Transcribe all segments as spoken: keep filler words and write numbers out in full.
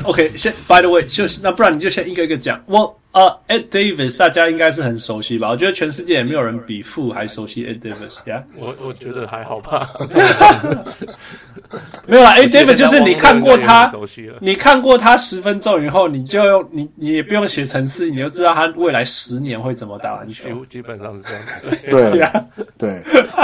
OK， 先 By the way， 就是那不然你就先一個一個講。我呃、uh, ，Ed Davis 大家應該是很熟悉吧？我覺得全世界也沒有人比富還熟悉 Ed Davis。Yeah， 我我覺得還好吧。 沒有啦 ，Ed Davis 就是你看過他，你看過他十分鐘以後，你就用你你也不用寫程式，你就知道他未來十年會怎麼打籃球。 基本上是這樣。 對對。對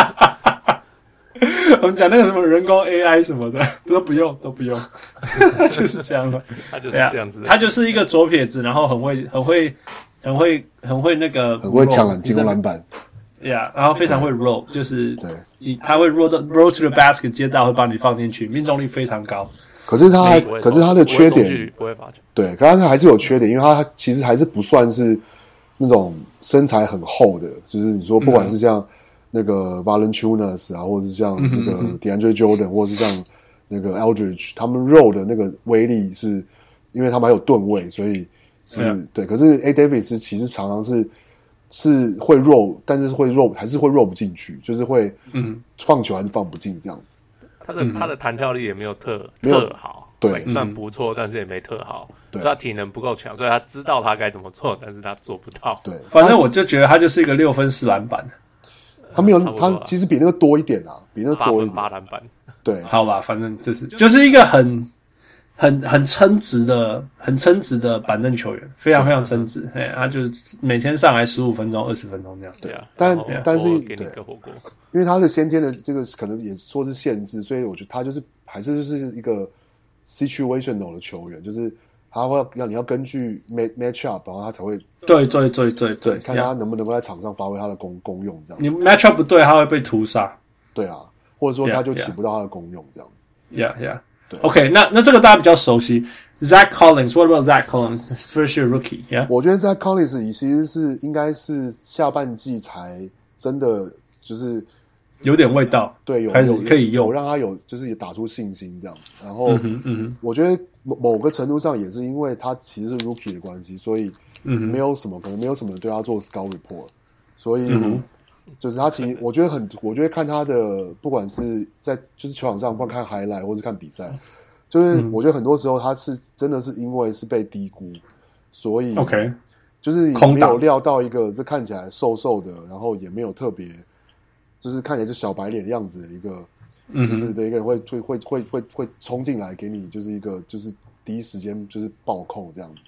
我們講那個什麼人工 A I 什麼的都不用都不用，就是這樣的。 他就是這樣子的， 他就是一個左撇子，然後很會很會很會很會那個很會搶籃進攻籃板， 呀， yeah, 然後非常會 roll， 就是對，你他會 roll 到 roll to the basket 接到會把你放進去，命中率非常高。 可是他可是他的缺點不會罰球， 對，可是他還是有缺點，因為他其實還是不算是那種身材很厚的，就是你說不管是像。嗯那個 Valanciunas 啊，或者是像那個 DeAndre Jordan，、嗯、或者是像那個 Aldridge， 他們 roll 的那個威力是，因為他們還有盾位，所以是、嗯、對。可是 A Davis 其實常常是是會 roll， 但是會 roll 還是會 roll 不進去，就是會嗯放球還是放不進這樣子。 他的、嗯、他的彈跳力也沒有特沒有特好， 對， 算不錯、嗯，但是也沒特好， 對， 所以他體能不夠強，所以他知道他該怎麼做，但是他做不到。 對， 反正我就覺得他就是一個六分四籃板。 他沒有，他其實比那個多一點啊，比那個多一點。 八籃板， 對， 好吧，反正就是就是一個很很很稱職的、很稱職的板凳球員，非常非常稱職。哎，他就是每天上來十五分鐘、二十分鐘這樣。 對啊，但但是給你個火鍋， 因為他的先天的這個可能也說是限制，所以我覺得他就是還是就是一個 situational 的球員，就是他會要你要根據 match up， 然後他才會。 對對對對對，看他能不能夠在場上發揮他的功功用，這樣。 你 match up 不對，他會被屠殺。 對啊，或者說他就起不到他的功用，這樣子。 Yeah, yeah. 對 OK， 那那這個大家比較熟悉 ，Zach Collins。What about Zach Collins? First year rookie. Yeah. 我覺得 Zach Collins 其實是應該是下半季才真的就是有點味道， 對，有開始可以用， 有讓他有就是也打出信心這樣子。然後， 嗯哼嗯哼， 我覺得某某個程度上也是因為他其實是 rookie 的關係，所以。嗯，沒有什麼，可能沒有什麼人對他做 scout report， 所以、嗯、就是他其實我覺得很，我覺得看他的，不管是在就是球場上，不管看 highlight 或是看比賽，就是我覺得很多時候他是真的是因為是被低估，所以 OK， 就是沒有料到一個這看起來瘦瘦的，然後也沒有特別，就是看起來就小白臉的樣子的一個，就是的一個人會會會會會會衝進來給你，就是一個就是第一時間就是暴扣這樣子。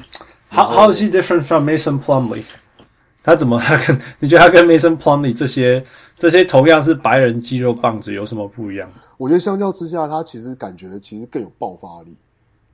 How how is he different from Mason Plumlee？ 他怎麼他跟你覺得他跟 Mason Plumlee 這些這些同樣是白人肌肉棒子有什麼不一樣？ 我覺得相較之下，他其實感覺其實更有爆發力。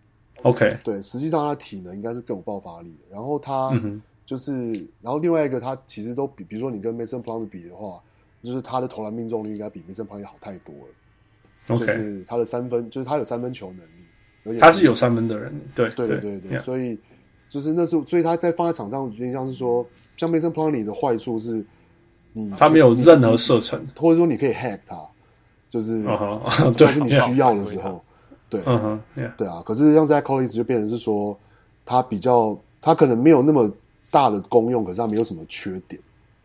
OK， 對，實際上他體能應該是更有爆發力的。然後他就是，嗯、然後另外一個他其實都比，比如說你跟 Mason Plumlee 比的話，就是他的投籃命中率應該比 Mason Plumlee 好太多了。 OK， 就是他的三分，就是他有三分球能力，而且他是有三分的人，對对对对对， yeah. 所以。就是那是，所以他在放在場上，有點像是說，像 Mason Plumlee 的壞處是你，你他沒有任何射程， 或者說你可以 hack 他，就是， uh -huh. 但是你需要的時候， yeah. 對， 嗯哼， 對啊。可是像在 Collins 就變成是說，他比較，他可能沒有那麼大的功用，可是他沒有什麼缺點。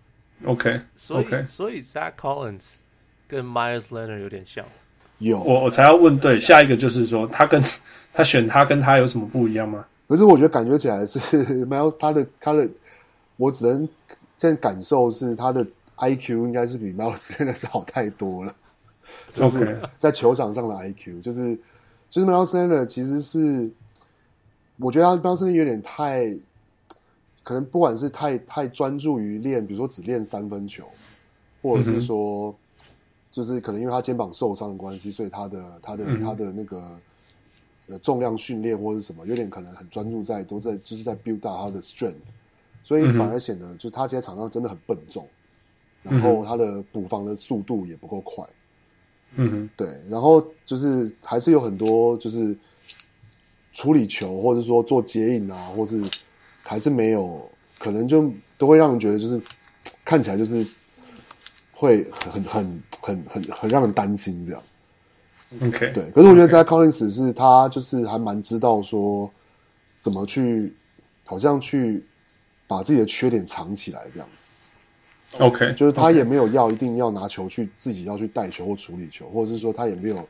OK， 所以 okay. 所以 Zach Collins 跟 Myles Leonard 有點像。 有， 我我才要問，對，下一個就是說，他跟他選他跟他有什麼不一樣嗎？ 可是我覺得感覺起來是 Myles 他的他的，我只能現在感受是他的 I Q 應該是比 Myles 真的是好太多了，就是在球場上的 I Q， 就是就是 Myles Leonard 其實是，我覺得他 Myles Leonard 有點太，可能不管是太太專注於練，比如說只練三分球，或者是說，嗯、就是可能因為他肩膀受傷的關係，所以他的他的、嗯、他的那個。呃，重量訓練或者什麼，有點可能很專注在都在就是在 build up 他的 strength， 所以反而顯得就是他現在場上真的很笨重，嗯、然後他的補防的速度也不夠快，嗯哼，對，然後就是還是有很多就是處理球或者說做接應啊，或是還是沒有，可能就都會讓人覺得就是看起來就是會很很很很很讓人擔心這樣。 OK， 對，可是我覺得在 Collins 是他就是還蠻知道說怎麼去，好像去把自己的缺點藏起來這樣。 OK， 就是他也沒有要一定要拿球去自己要去帶球或處理球，或者是說他也沒有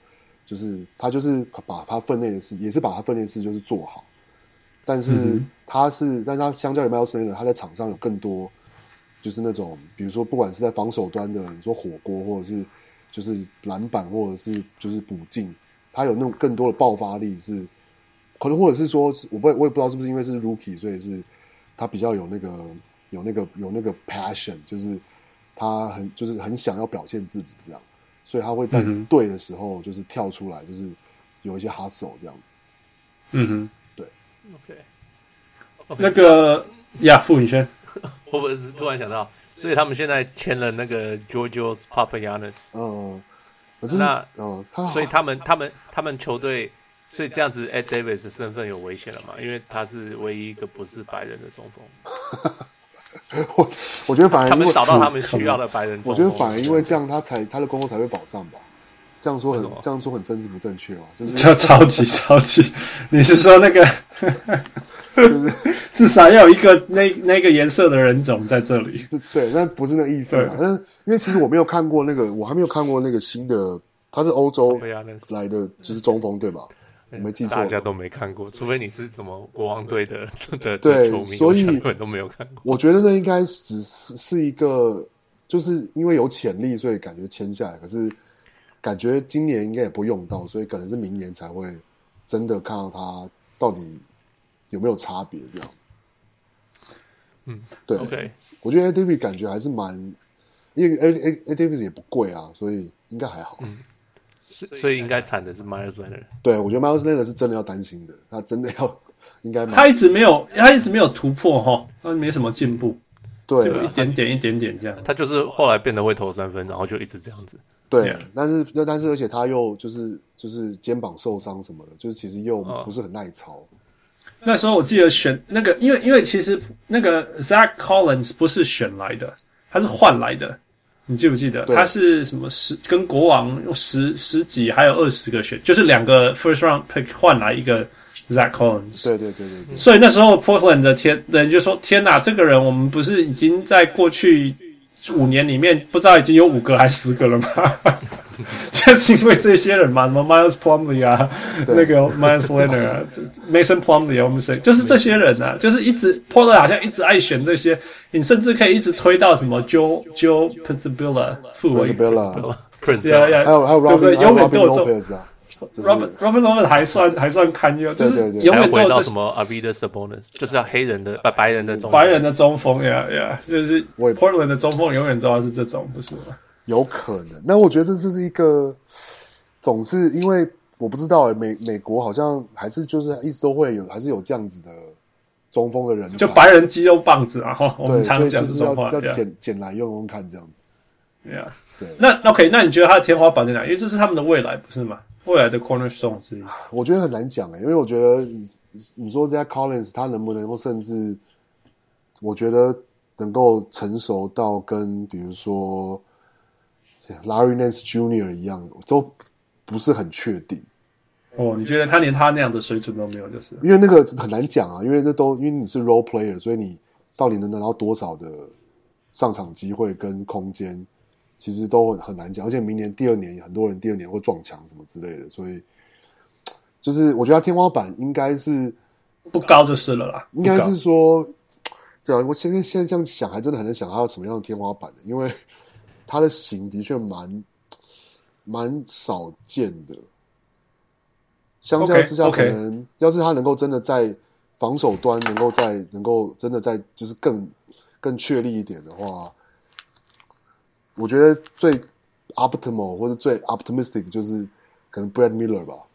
就是他就是把他分內的事，也是把他分內的事就是做好，但是他是，嗯、但是他相較於 Miles Leonard，他在場上有更多，就是那種比如說不管是在防守端的，你說火鍋或者是就是籃板或者是就是補進，他有那種更多的爆發力是，可能或者是說，我不我也不知道是不是因為是 Rookie， 所以是他比較有那個有那個有那個 passion， 就是他很就是很想要表現自己這樣。所以他會在對的時候就是跳出來，就是有一些 hustle 這樣子。 嗯哼， 對。 OK，, okay. 那個呀，傅宇軒， 我不是突然想到，所以他們現在簽了那個 Georgios Papagiannis。 嗯，可是那嗯，他所以他們他們他們球隊，所以這樣子 Ed Davis 的身份有危險了嘛？因為他是唯一一個不是白人的中鋒。 我我觉得反而他們找到他們需要的白人中鋒， 我覺得反而因為這樣，他才他的工作才會保障吧。這樣說很這樣說很政治不正確嘛？就是超超級超級，你是說那個，就是至少要有一個那那個顏色的人種在這裡？ 對，但不是那個意思嘛。但是因為其實我沒有看過那個，我還沒有看過那個新的，他是歐洲來的，就是中鋒對吧？我沒記錯， 大家都沒看過，除非你是什麼國王隊的的對球迷， 所以根本都沒有看過。 我覺得那應該只是是一個，就是因為有潛力，所以感覺簽下來。可是感覺今年應該也不會用到，所以可能是明年才會真的看到他到底有沒有差別這樣。 嗯， 對 ，OK， 我覺得 Ed Davis 感覺還是蠻，因為 Ed Ed Davis 也不貴啊，所以應該還好。 嗯，所以應該慘的是 Miles Leonard。對， 我覺得 Miles Leonard 是真的要擔心的，他真的要應該他一直沒有，他一直沒有突破哈，他沒什麼進步， 對， 就一點點一點點這樣。 他就是後來變得會投三分，然後就一直這樣子。 對， yeah. 但是但是而且他又就是就是肩膀受傷什麼的，就是其實又不是很耐操。哦、 那時候我記得選那個，因為因為其實那個 Zach Collins 不是選來的，他是換來的。你記不記得他是什麼十跟國王用十十幾還有二十個選，就是兩個 first round pick 換來一個 Zach Collins。 對對對對對。 所以那時候 Portland 的天人就說：“天哪，這個人我們不是已經在過去五年裡面不知道已經有五個還是十個了嗎？就是因為這些人嘛，什麼 Miles Plumlee 啊，那個 Miles Leonard 啊，Mason Plumlee 啊，我們誰就是這些人啊，就是一直 Portland 好像一直愛選這些，你甚至可以一直推到什麼 Joe Joe Piscibilla 副委員 ，Piscibilla， 對呀， 還有還有 Robin 對永遠都有這種 Robin Robin Lopez 還算還算堪憂，就是永遠都有這什麼 Arvydas Sabonis，就是要黑人的白白人的中白人的中鋒呀呀，就是 Portland 的中鋒永遠都要是這種，不是嗎？ 有可能，那我覺得這是一個，總是因為我不知道誒，美美國好像還是就是一直都會有，還是有這樣子的中鋒的人， 就白人肌肉棒子啊，哈，我們常講這種話， 要撿撿來用用看這樣子。 對啊，對。那 OK， 那你覺得他的天花板在哪？因為這是他們的未來，不是嗎？未來的 cornerstone 之一。 我覺得很難講誒，因為我覺得你你說這 Collins 他能不能夠甚至，我覺得能夠成熟到跟比如說。Larry Nance Junior 一樣，都不是很確定。 哦，你覺得他連他那樣的水準都沒有，就是因為那個很難講啊，因為那都因為你是 role player，所以你到底能拿到多少的上場機會跟空間，其實都很很難講。而且明年第二年很多人第二年會撞牆什麼之類的，所以就是我覺得他天花板應該是不高就是了啦。 應該是說，對啊，我現在現在這樣想，還真的很難想他有什麼樣的天花板的，因為。他的型的確蠻蠻少見的，相較之下，可能要是他能夠真的在防守端能夠在能夠真的在就是更更確立一點的話，我覺得最 optimal 或者最 optimistic 就是可能 Brad Miller 吧。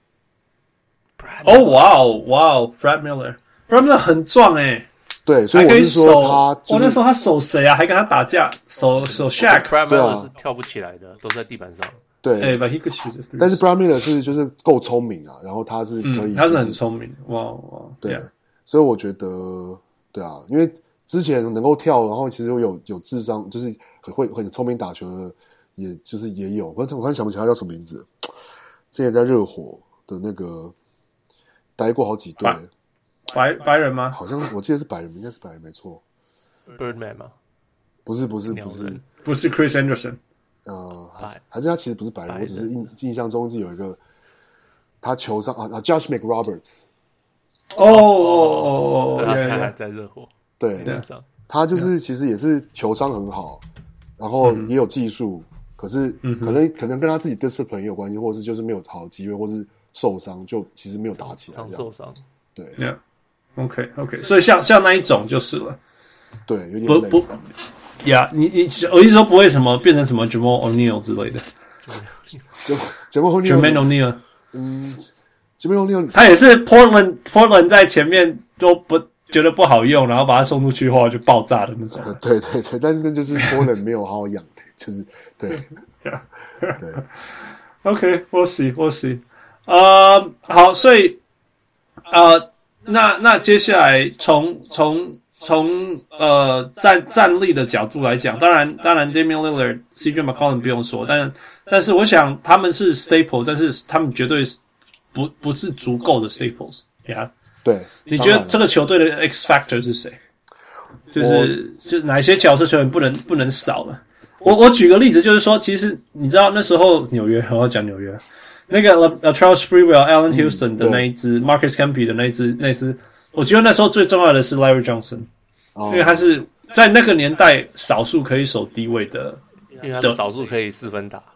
哦，哇哦，哇哦 ，Brad Miller，Brad Miller 很壯誒。 對，所以我是說他、就是， 我那時候他守誰啊？還跟他打架，守守 Shaq。 對啊，是跳不起來的，都在地板上。 對， 哎、欸、，But he could shoot。 但是 Brad Miller 是就是夠聰明啊，然後他是可以、就是嗯， 他是很聰明，哇哇。 對， yeah. 所以我覺得，對啊，因為之前能夠跳，然後其實有有智商，就是很會很聰明打球的，也就是也有。我我突然想不起來他叫什麼名字，之前在熱火的那個待過好幾隊。 白白人嗎？ 好像我記得是白人，應該是白人，沒錯。 Birdman 嗎？ 不是，不是，不是， 不是 Chris Anderson。 呃， 還是他其實不是白人，我只是印印象中是有一個他球上啊啊 ，Josh McRoberts。 哦哦哦哦， 對，他现在還在熱火。 對，他就是其實也是球商很好，然後也有技術，嗯、可是可能、嗯、可能跟他自己 discipline 也有關係，或是就是沒有好的機會，或是受傷，就其實沒有打起來。常受傷。 對。 Yeah. OK OK， 所以像像那一種就是了。 對，有點不不呀， yeah, 你你我意思說不會什麼變成什麼 Jamal O'Neal 之類的。 Jamal Jermaine O'Neal， 嗯 ，Jamal O'Neal 他也是 Portland Portland 在前面都不覺得不好用，然後把他送出去的話就爆炸的那種。 呃、對對對，但是那就是 Portland 沒有好好養的，就是對。 yeah. 對 OK，we'll see，we'll see。呃，好，所以呃。那那接下來從從從呃戰戰力的角度來講，當然當然 Damian Lillard、C J McCollum 不用說，但但是我想他們是 staple， 但是他們絕對不不是足夠的 staples， 呀、yeah? 對， 你覺得這個球隊的 X factor 是誰？就是就哪一些角色球員不能不能少了？我我舉個例子，就是說，其實你知道那時候紐約，我要講紐約。那個 Latrell Sprewell、Allen Houston 的那一支、嗯、，Marcus Camby 的那一支，那一支，我覺得那時候最重要的是 Larry Johnson，、哦、因為他是在那個年代少數可以守低位的， 因為他是少數可以四分打。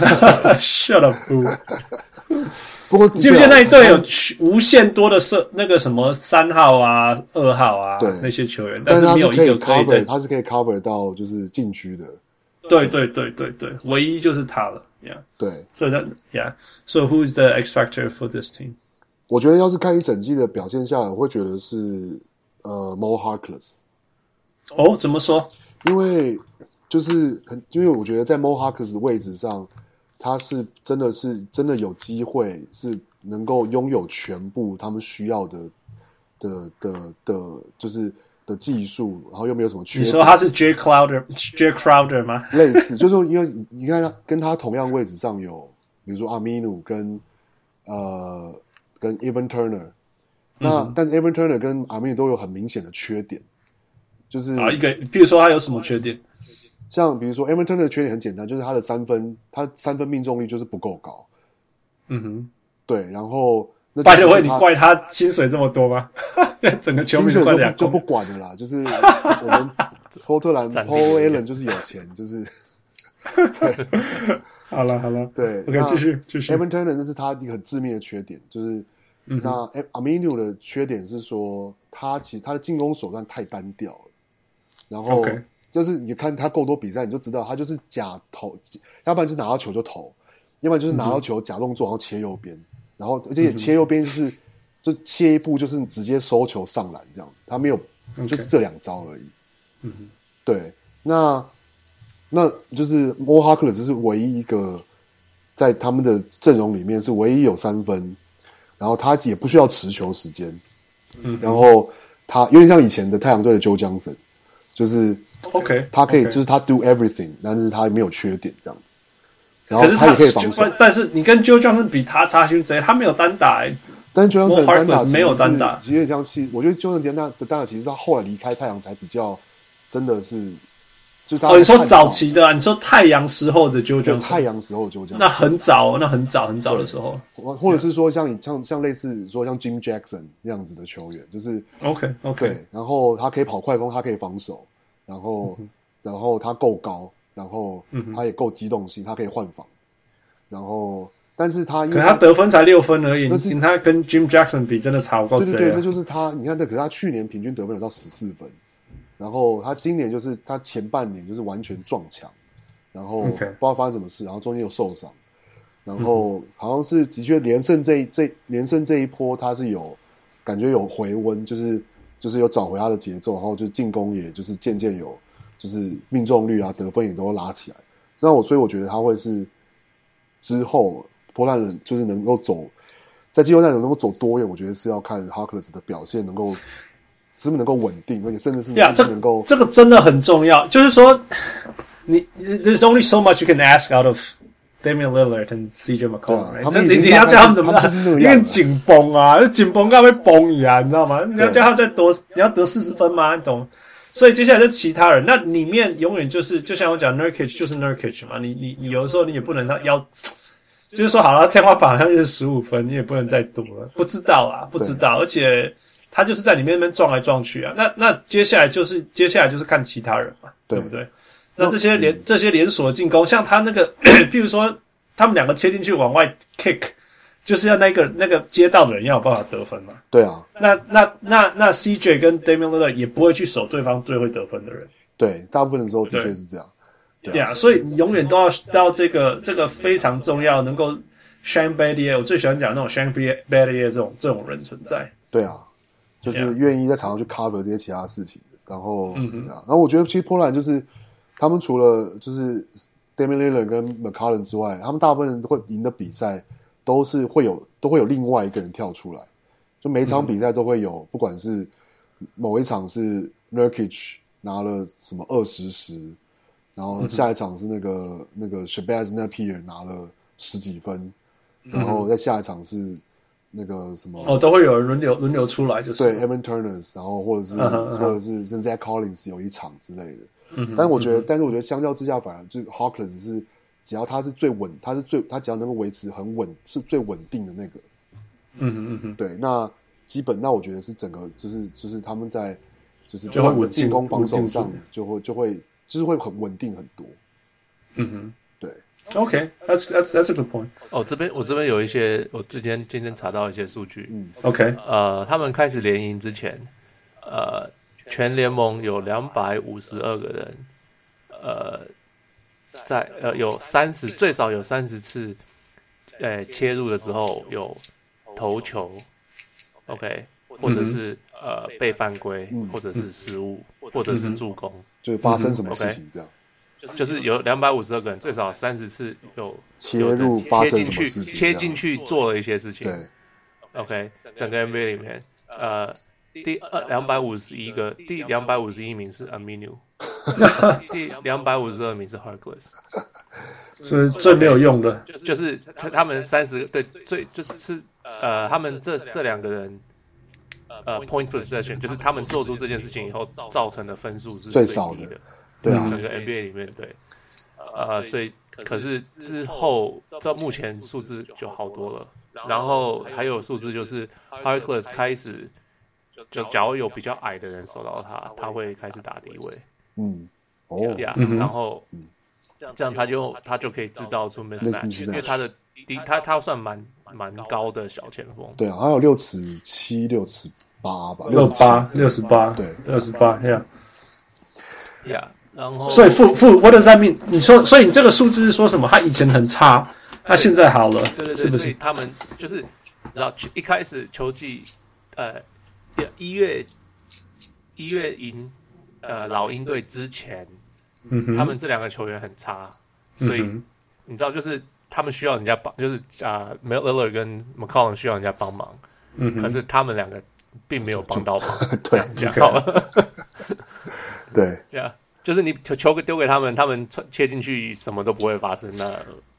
Shut up！ 不過記不記得那一隊有無限多的射那個什麼三號啊、二號啊那些球員，但是沒有一個可以在， 他是可以 cover 到就是禁區的。 對對對对对，唯一就是他了。Yeah， 對， 所以那 Yeah，so who's the X factor for this team？ 我覺得要是看一整季的表現下來，我會覺得是呃 Mo Harkless。 哦，怎麼說？ 因為就是很，因為我覺得在 Mo Harkless 的位置上，他是真的是真的有機會是能夠擁有全部他們需要的的的的，就是的技術，然後又沒有什麼缺點。 你說他是 Jay Crowder，Jay Crowder 嗎？ 類似，就是說，因為你看他跟他同樣位置上有，比如說 Aminu 跟呃跟 Evan Turner，、嗯、那但是 Evan Turner 跟 Aminu 都有很明顯的缺點，就是啊一個，比如說他有什麼缺點？ 像比如說 Evan Turner 的缺點很簡單，就是他的三分，他三分命中率就是不夠高。 嗯哼， 對，然後。 By the way，你怪他薪水這麼多嗎？整個球迷怪兩就不管了啦，就是我們波特蘭 Paul Allen 就是有錢，就是對， 好了好了， 對 ，OK， 繼續繼續。 Evan Turner 那是他一個很致命的缺點，就是、嗯、那 Aminu 的缺點是說他其實他的進攻手段太單調了，然後就是你看他夠多比賽，你就知道他就是假投，要不然就拿到球就投，要不然就是拿到球假動作然後切右邊。然後，而且切右邊就是、嗯，就切一步就是直接收球上籃這樣子，他沒有，就是這兩招而已。嗯，對，那那就是 Mo Harkless 是唯一一個在他們的陣容裡面是唯一有三分，然後他也不需要持球時間。嗯，然後他有點像以前的太陽隊的 Joe Johnson， 就是 OK， 他可以、 okay. 就是他 do everything， 但是他沒有缺點這樣子。然後他也可以防守， 但是你跟 Joe Johnson 比，他差距賊，他沒有單打、欸。 但是 Joe Johnson 單打沒有單打， 有點像是我覺得 Joe Johnson 的單打其實他後來離開太陽才比較真的是，就是他。哦，你說早期的、啊，你說太陽時候的 Joe Johnson， 太陽時候的 Joe Johnson，那很早，那很早很早的時候， 或者是說像像像類似說像 Jim Jackson 那樣子的球員，就是 OK OK， 對，然後他可以跑快攻，他可以防守，然後、嗯、然後他夠高，然後他也夠機動性，他可以換防。然後，但是他因為他可他得分才六分而已，你他跟 Jim Jackson 比真的差不多。 對對对，這就是他。你看，那可是他去年平均得分有到十四分，然後他今年就是他前半年就是完全撞牆，然後不知道發生什麼事，然後中間又受傷，然後好像是的確連勝這一這連勝這一波他是有感覺有回溫，就是就是有找回他的節奏，然後就進攻也就是漸漸有就是命中率啊得分也都拉起來。那我所以我覺得他會是。之後，波蘭人就是能夠走在季後賽能夠走多遠，我覺得是要看 Harkless 的表現能夠是不是能夠穩定，而且甚至是能夠、 yeah, 這, 這個真的很重要。就是說，你 there's only so much you can ask out of Damian Lillard and C J McCollum，、right? 他你你要叫他們怎麼辦？你很緊繃啊，緊繃到會崩一樣，你知道嗎？你要叫他再多，你要得四十分嗎？你懂？ 所以接下來是其他人，那裡面永遠就是就像我講 Nurkic 就是 Nurkic 嘛，你你你有的時候你也不能他要，就是說好了，天花板好像就是十五分，你也不能再多了，不知道啊，不知道，而且他就是在裡面那邊撞來撞去啊，那那接下來就是接下來就是看其他人嘛，對，對不對？那這些連、嗯、這些連鎖進攻，像他那個，譬如說他們兩個切進去往外 kick。就是要那個那個接到的人要有辦法得分嘛？對啊。那那那那 C J 跟 Damian Lillard 也不會去守對方最會得分的人。對，大部分的時候的確是這樣。對啊， yeah, 所以你永遠都要到這個這個非常重要，能夠 Shane Battier， 我最喜歡講那種 Shane Battier 這種這種人存在。對啊，就是願意在場上去 cover 這些其他事情。然後，嗯哼，然後我覺得其實波蘭就是他們除了就是 Damian Lillard 跟 McCollum 之外，他們大部分人會贏的比賽。都是會有，都會有另外一個人跳出來，就每場比賽都會有，嗯、不管是某一場是 Nurkic 拿了什麼二十十，然後下一場是那個、嗯、那個 Shabazz Napier 拿了十幾分，嗯、然後再下一場是那個什麼哦，都會有人輪流輪流出來，就是對 Evan Turner， 然後或者是、uh-huh, uh-huh. 或者是甚至 Zach Collins 有一場之類的，嗯，但是我覺得，嗯、但是我覺得相較之下，反而就是 Harkless 是。只要他是最穩，他是最他只要能夠維持很穩，是最穩定的那個。嗯哼嗯哼，對，那基本那我覺得是整個就是就是他們在就是就會進攻防守上就會就會就是會很穩定很多。嗯哼，對。OK，that's that's that's a good point。 哦，這邊我這邊有一些，我之前今天查到一些數據。 嗯 ，OK， 呃，他們開始聯營之前，呃，全聯盟有兩百五十二個人，呃。在呃有三十最少有三十次，呃切入的時候有投球 ，OK， 或者是、嗯、呃被犯規、嗯，或者是失誤、嗯，或者是助攻， 就發生什麼事情這樣， 嗯、就是有兩百五十二個人，最少三十次有切入發生什麼事情， 切進去做了一些事情， 對 ，OK， 整個 N B A 裡面，呃。第二兩百五十一個，第兩百五十一名是 Aminu， 第兩百五十二名是 Harkless， 所以最沒有用的， okay, 就, 就是他們三十對最就是呃他們這這兩個人呃 point possession 就是他們做出這件事情以後造成的分數是最低的，最少的，對啊，整個 N B A 裡面對，呃所以可是之後到目前數字就好多了，然後還有數字就是 Harkless 開始。就假如有比較矮的人守到他，他會開始打低位。嗯，哦，呀、yeah, 嗯，然後、嗯、這樣他就他就可以製造出 mismatch， 因為他的低他他算蠻蠻高的小前鋒。 對啊，他有六尺七、六尺八吧， 六八、六十八，對，六十八，呀， 呀，然後所以負負 what does that mean？你說，所以你這個數字是說什麼？他以前很差，他現在好了， 對對對，是不是？所以他們就是你知道一開始球季呃。一月一月贏呃老鷹隊之前、嗯，他們這兩個球員很差，嗯、所以你知道就是他們需要人家幫，就是啊 Lillard 跟 McCollum 需要人家幫忙、嗯，可是他們兩個並沒有幫到忙， 對， okay. 對， 對啊，就是你球球丟給他們，他們切進去什麼都不會發生，那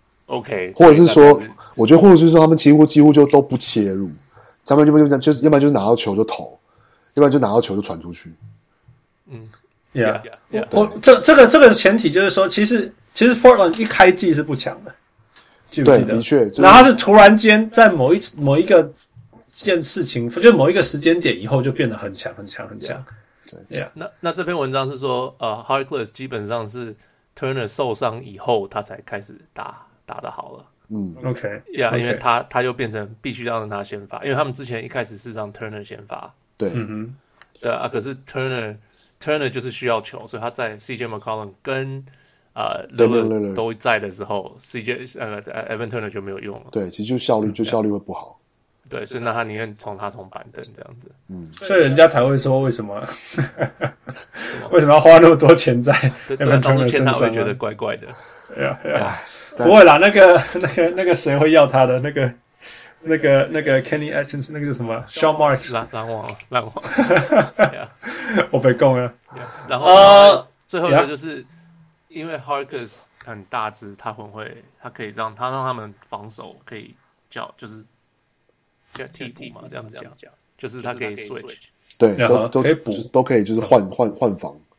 OK， 或者是說，是我覺得或者是說他們幾乎幾乎就都不切入。他們要不然就要不然就是拿到球就投，要不然就拿到球就傳出去。 嗯 ，Yeah，, yeah, yeah. 我這這個這個前提就是說，其實其實 Portland 一開季是不強的，記不記得？ 對，的確。就是、 然後他是突然間在某一某一個件事情，就某一個時間點以後就變得很強很強很強。 對，Yeah. 那那這篇文章是說，呃 Harkless 基本上是 Turner 受傷以後，他才開始打打得好了。 嗯 ，OK， 呀、yeah, okay. 因為他他就變成必須要讓他先發，因為他們之前一開始是讓 Turner 先發， 對， 嗯哼， 對啊，可是 Turner Turner 就是需要球，所以他在 C J McCollum 跟呃 Lillard 都在的時候 ，C J 呃 Evan Turner 就沒有用了， 對，其實就效率就效率會不好， 對，所以那他寧願從他從板凳這樣子， 嗯，所以人家才會說為什麼為什麼要花那麼多錢在 Evan Turner 身上，他會覺得怪怪的， 對啊，對啊。不會啦，那個、那個、那個誰會要他的？那個、那個、那個 Kenny Atkinson， 那個是什麼 ？Sean Marks， 籃籃網，籃網。yeah. 我被供了。 Yeah. 然後、uh, 最後一個就是、yeah. 因為 Harkless 很大只，他很會，他可以讓他讓他們防守可以叫就是叫替補嘛，這樣子講，就是他可以 switch， 對，都都可以補，都可以就是換換換防。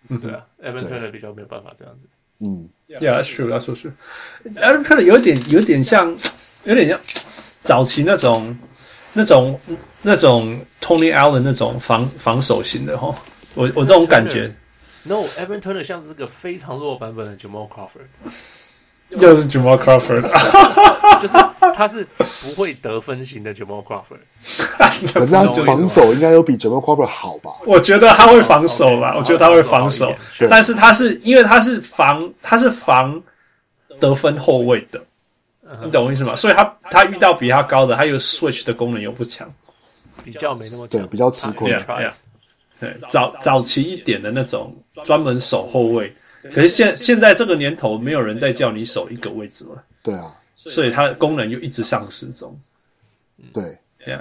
嗯，對啊 ，Evan Turner 比較沒有辦法這樣子。 嗯 ，Yeah, that's true, that's true. Evan Turner 有點有點像，有點像早期那種那種那種 Tony Allen 那種防防守型的齁，我我這種感覺。 No, Evan Turner 像是個非常弱版本的 Jamal Crawford。 又是 Jamal Crawford， 就是他是不會得分型的 Jamal Crawford， 可是他防守應該有比 Jamal Crawford 好吧？ 我覺得他會防守啦， okay, 我覺得他會防守，但是他是因為他是防他是防得分後衛的，你懂我意思嗎？所以他他遇到比他高的，他有 switch 的功能又不強， 比較沒那麼對，比較吃虧。 Yeah, yeah, 對，早早期一點的那種專門守後衛。可是現現在這個年頭，沒有人再叫你守一個位置了。 對啊， 所以它的功能又一直喪失中。 對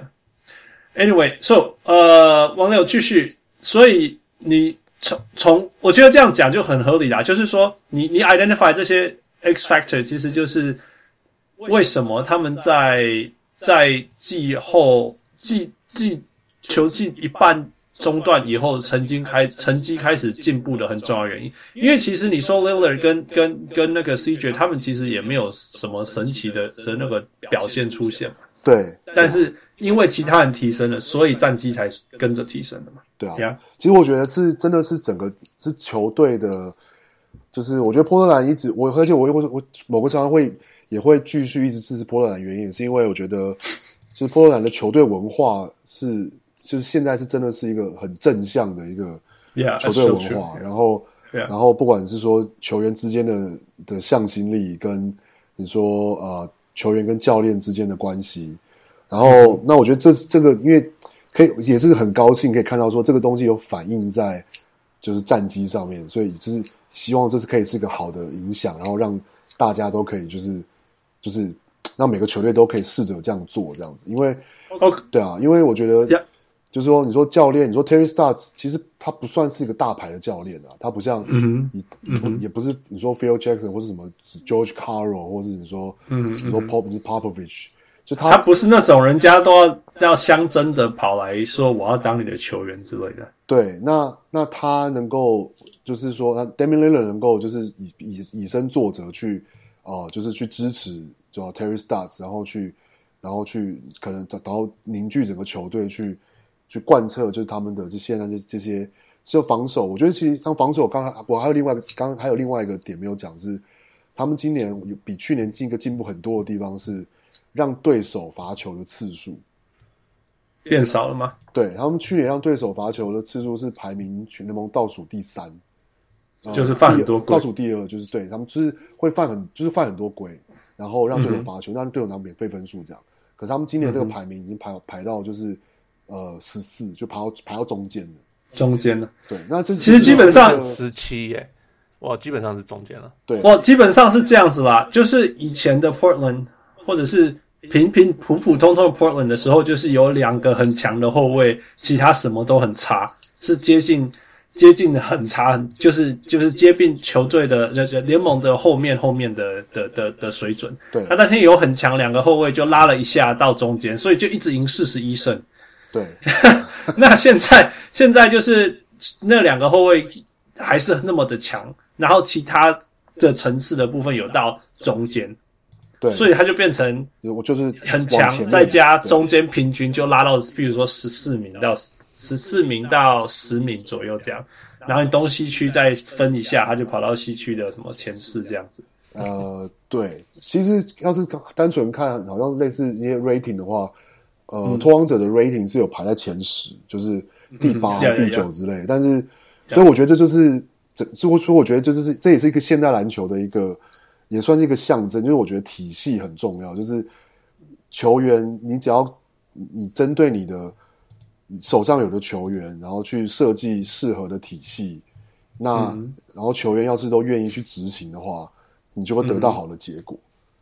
，Yeah。Anyway，so 呃，王柳繼續，所以你從從我覺得這樣講就很合理啦，就是說你你 identify 這些 X factor， 其實就是為什麼他們在在季後季季球季一半中段以後，成績開成績開始進步的很重要的原因，因為其實你說 Lillard 跟跟跟那個 C J 他們其實也沒有什麼神奇的的那個表現出現嘛。 對。 但是因為其他人提升了，所以戰績才跟着提升了嘛。 對啊。 Yeah. 其實我覺得是真的是整個是球隊的，就是我覺得波特蘭一直我而且我我我某個常常會也會繼續一直支持波特蘭，原因也是因為我覺得就是波特蘭的球隊文化是。就是現在是真的是一個很正向的一個球隊文化， yeah, 然後、yeah. 然後不管是說球員之間的的向心力，跟你說呃球員跟教練之間的關係，然後、嗯、那我覺得這這個因為可以也是很高興可以看到說這個東西有反映在就是戰績上面，所以就是希望這是可以是一個好的影響，然後讓大家都可以就是就是讓每個球隊都可以試着這樣做這樣子，因為、okay. 對啊，因為我覺得。Yeah.就是說，你說教練，你說 Terry Stotts， 其實他不算是一個大牌的教練啊，他不像，嗯嗯、也不是你說 Phil Jackson 或是什麼 George Karl， 或是你說，嗯、你說 Pop， 你說 Popovich， 就他他不是那種人家都要要相爭的跑來說我要當你的球員之類的。 對，那那他能夠就是說，那 Damian Lillard 能夠就是以以以身作則去，呃，就是去支持就 Terry Stotts， 然後去然後去可能然後凝聚整個球隊去。去貫徹就是他們的這現在這這些就防守，我覺得其實像防守，剛才我還有另外一個，剛剛還有另外一個點沒有講是，他們今年有比去年進一個進步很多的地方是讓對手罰球的次數變少了嗎？ 對，他們去年讓對手罰球的次數是排名全聯盟倒數第三， 就是犯很多規， 倒數第二就是對他們就是會犯很就是犯很多規，然後讓對手罰球，讓、嗯、對手拿免費分數這樣。可是他們今年這個排名已經排、嗯、排到就是。呃，十四就排到排到中間了， 中間了。 對，那這其實基本上十七耶，哇，基本上是中間了。 對， 哇，基本上是這樣子啦。就是以前的 Portland， 或者是平平普普通通的 Portland 的時候，就是有兩個很強的後衛，其他什麼都很差，是接近接近的很差，就是就是接近球隊的聯盟的後面後面的的的的水準。 對， 那但是有很強兩個後衛就拉了一下到中間，所以就一直贏四十一勝。 對， 那現在現在就是那兩個後衛還是那麼的強，然後其他的層次的部分有到中間， 對， 所以它就變成我就是很強，再加中間平均就拉到，比如說十四名到十四名到十名左右這樣，然後你東西區再分一下，它就跑到西區的什麼前四這樣子。 呃，對，其實要是單純看，好像類似一些 rating 的話。呃，嗯、拓荒者的 rating 是有排在前十，就是第八、嗯、第九之類的。嗯、但是，所以我覺得這就是這，所以我覺得這就是這也是一個現代籃球的一個，也算是一個象徵。就是我覺得體系很重要，就是球員，你只要你針對你的手上有的球員，然後去設計適合的體系，那、嗯、然後球員要是都願意去執行的話，你就會得到好的結果。嗯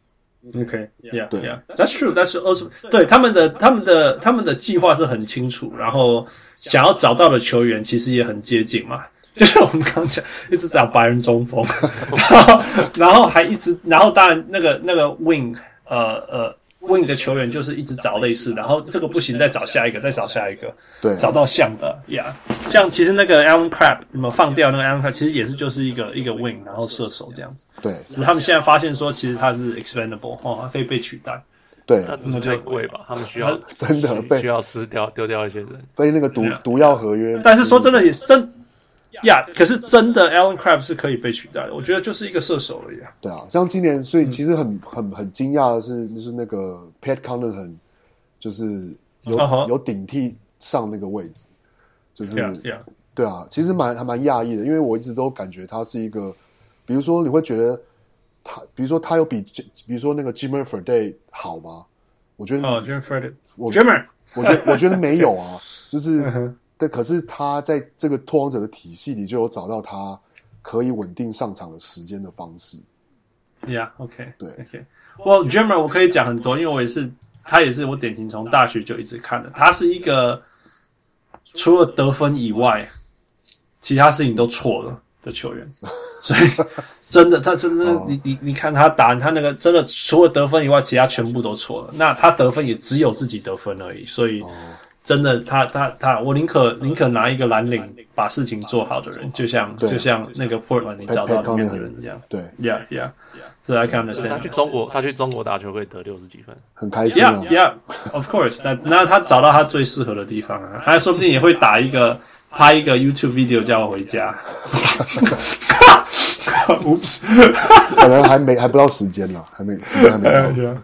Okay, yeah, yeah, that's true. That's also 對他們的他們的他們的計劃是很清楚，然後想要找到的球員其實也很接近嘛。就是我們剛剛講，一直找白人中鋒，然後然後還一直，然後當然那個那個 wing， 呃呃 wing 的球員就是一直找類似，然後這個不行，再找下一個，再找下一個， 對， 找到像的呀。Yeah. 像其實那個 Allen Crabbe 有沒有放掉那個 Allen Crabbe，其實也是就是一個一個 wing， 然後射手這樣子。 對， 只是他們現在發現說，其實它是 expendable 哦，它可以被取代。 對， 那只是太貴吧？他們需要真的被需要撕掉丟掉一些人， 被那個毒毒藥合約。 但是說真的也是真。呀、yeah, 可是真的 Allen Crabbe 是可以被取代的，我覺得就是一個射手而已啊。 對啊，像今年，所以其實很、嗯、很很驚訝的是，就是那個 Pat Connaughton 就是有、uh-huh. 有頂替上那個位置，就是 yeah, yeah. 對啊，其實蠻還蠻訝異的，因為我一直都感覺他是一個，比如說你會覺得他，比如說他有比比如說那個 Jimmer Fredette 好嗎？我覺得哦、oh, Jimmer Fredette， 我 Jimmer， 我覺得我覺得沒有啊，就是。 uh-huh. 但可是他在這個拓荒者的體系裡就有找到他可以穩定上場的時間的方式。 Yeah, OK， 對 ，OK。Well, Jimmer 我可以講很多，因為我也是，他也是我典型從大學就一直看的。他是一個除了得分以外，其他事情都錯了的球員。所以真的，他真的，哦、你你你看他打他那個，真的除了得分以外，其他全部都錯了。那他得分也只有自己得分而已，所以。哦真的，他他他，我寧可寧可拿一個藍領把事情做好的人，就像就像那個 Portland 你找到裡面的人一樣。對 ，Yeah Yeah， 所以 I can understand。 他去中國，他去中國打球可以得六十幾分， 很開心啊。 Yeah Yeah，Of course， 那那他找到他最適合的地方啊，他說不定也會打一個拍一個 YouTube video 叫我回家。Oops， 可能還沒還不到時間呢，還沒時間還沒到。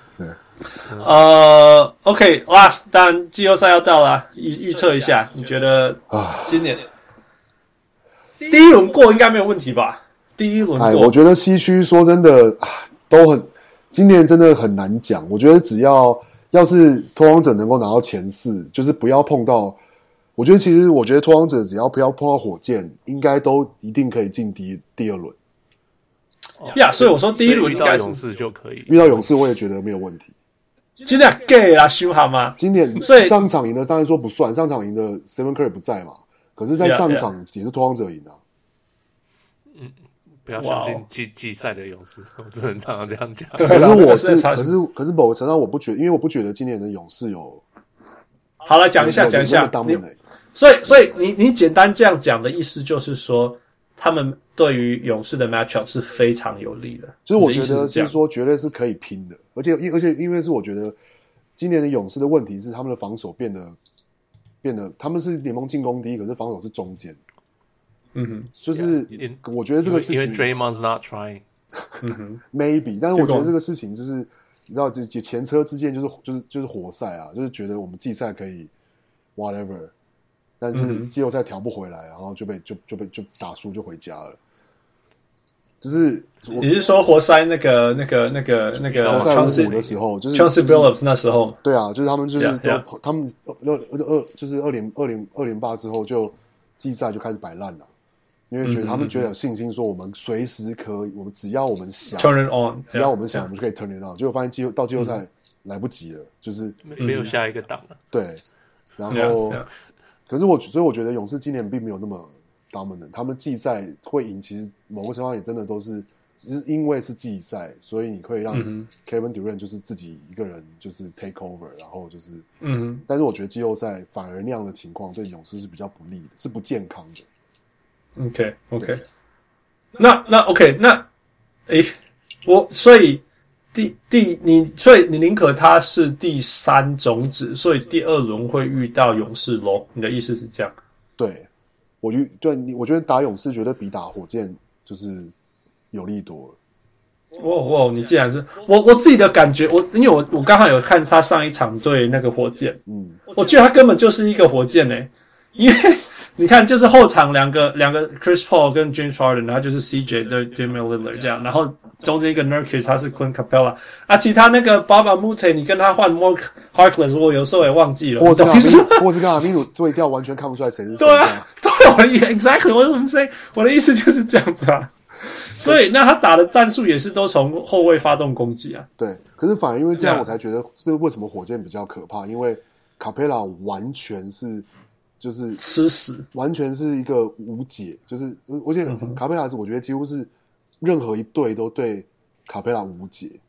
呃、uh, ，OK， last， 當然季後賽要到了，預預測一下，你覺得今年第一輪過應該沒有問題吧？第一輪過， 哎，我覺得西區說真的都很，今年真的很難講。我覺得只要要是拓荒者能夠拿到前四，就是不要碰到，我覺得其實我覺得拓荒者只要不要碰到火箭，應該都一定可以進第第二輪。 呀、yeah, ，所以我說第一輪遇到勇士就可以， 遇到勇士我也覺得沒有問題。 今年 gay 啦，修好嗎？ 今年上場贏的當然說不算，上場贏的 Stephen Curry 不在嘛，可是在上場也是拓荒者贏的、啊。 嗯，不要相信季季賽的勇士，我只能常常這樣講。 可是我是，可是可是某個程度上我不覺得，因為我不覺得今年的勇士有。 好了，講一下，講一下。所以，所以你你簡單這樣講的意思就是說，他們對於勇士的 matchup 是非常有利的。 就是我覺得，就是說，絕對是可以拼的。而且，而且，因為是我覺得，今年的勇士的問題是他們的防守變得變得，他們是聯盟進攻第一，可是防守是中間。嗯哼，就是我覺得這個事情， 因為 Draymond's not trying， 嗯哼 ，maybe， 但是我覺得這個事情就是你知道，就前車之鑑就是就是就是活塞啊，就是覺得我們季賽可以 whatever， 但是季後賽調不回來，然後就被就就被就打輸就回家了。就是你是說活塞那個那個那個那個活塞五的時候，就是 Chauncey Billups 那時候， 對啊，就是他們就是都 yeah, yeah. 他們二二二就是二連二連二連霸之後就季賽就開始擺爛了，因為覺得他們覺得有信心，說我們隨時可以，我們只要我們想 turn it on， 只要我們想， yeah, 我們就可以 turn it on。結果發現季後到季後賽來不及了，嗯、就是沒有下一個檔了。 對，然後 yeah, yeah. 可是我所以我覺得勇士今年並沒有那麼 dominant，他們季賽會贏，其實某個情況也真的都是。只是因為是季賽，所以你可以讓 Kevin Durant 就是自己一個人就是 take over， 然後就是，嗯哼。但是我覺得季後賽反而那樣的情況對勇士是比較不利的，是不健康的。 OK OK， 那那 OK 那，誒，我所以第第你所以你寧可他是第三種子，所以第二輪會遇到勇士咯？你的意思是這樣？ 對，我覺得對你，我覺得打勇士絕對比打火箭就是。有利多了。 哇哇！你既然是我我自己的感覺，我因為我我剛好有看他上一場對那個火箭，嗯，我覺得他根本就是一個火箭誒、欸，因為你看就是後場兩個兩個 Chris Paul 跟 James Harden， 然後就是 C J 對 Damian Lillard 這樣，然後中間一個 Nurkic 他是 Clint Capella 啊，其他那個 Baba Mute 你跟他換 Mark Harkless， 我有時候也忘記了， 或者或者跟阿米魯對調完全看不出來誰是誰。 對啊，對，我的 exactly 我怎麼 say 我的意思就是這樣子啊。所以，那他打的戰術也是都從後衛發動攻擊啊。 對，可是反而因為這樣，我才覺得這為什麼火箭比較可怕，因為卡佩拉完全是就是吃死，完全是一個無解，就是而且卡佩拉是我覺得幾乎是任何一隊都對卡佩拉無解，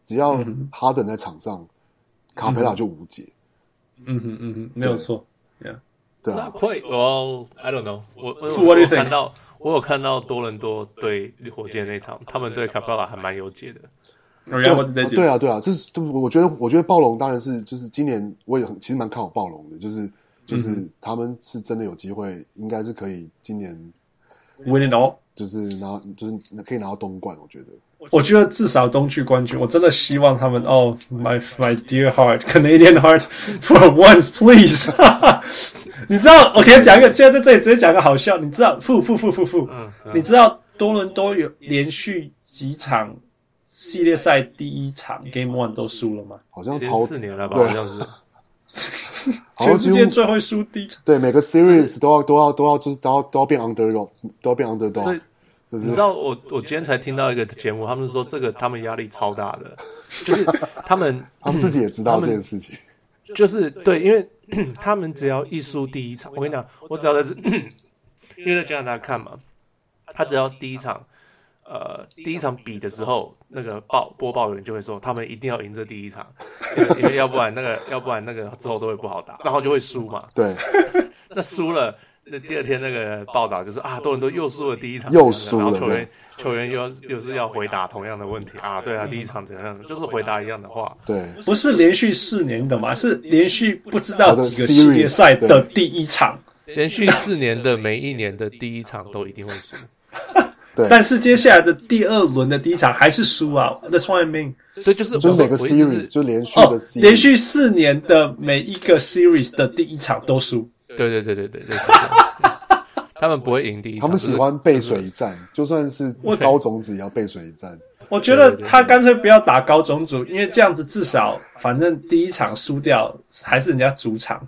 只要哈登在場上，嗯、卡佩拉就無解。 嗯哼嗯哼，沒有錯 ，Yeah， 對啊。 會，Well I don't know， 我我我有看到，我有看到多倫多對火箭那場，他們對卡佩拉還蠻有解的。 對, 對, 對啊，對啊，這是我覺得，我覺得暴龍當然是就是今年我也很其實蠻看好暴龍的，就是就是他們是真的有機會，應該是可以今年 win it all， 就是拿就是可以拿到東冠，我覺得。 我覺得至少東區冠軍，我真的希望他們哦、oh, ，my my dear heart Canadian heart for once please 。你知道，我可以講一個，現在在這裡直接講個好笑，你知道，負負負負負，你知道多倫多有連續幾場系列賽第一場 Game One 都輸了嗎？ 好像超四年了吧，好像是。全世界最會輸第一場。 對，每個 series 都要都要都要就是都要都要變 underdog， 都要變 underdog。就是、 你知道我我今天才聽到一個節目，他們說這個他們壓力超大的，就是他們他們自己也知道這件事情。 就是對，因為他們只要一輸第一場，我跟你講，我只要在這，因為在加拿大看嘛，他只要第一場。呃，第一場比的時候，那個報播報員就會說，他們一定要贏這第一場，因為要不然那個，要不然那個之後都會不好打，然後就會輸嘛。 對， 那輸了，那第二天那個報道就是啊，多倫多又輸了第一場， 又輸了， 然後球員球員又又是要回答同樣的問題啊，對啊，第一場怎樣，就是回答一樣的話。 對， 不是連續四年的嘛，是連續不知道幾個系列賽的第一場， 連續四年的每一年的第一場都一定會輸。 但是接下來的第二輪的第一場還是輸啊 ，That's what I mean。 對，就是就是每個 series 就連續的 series，、 哦、連續四年的每一個 series 的第一場都輸。 對對對對對對，他們不會贏第一場。 他們喜歡背水一戰，就算是高種子也要背水一戰。 我覺得他乾脆不要打高種子，因為這樣子至少反正第一場輸掉還是人家主場。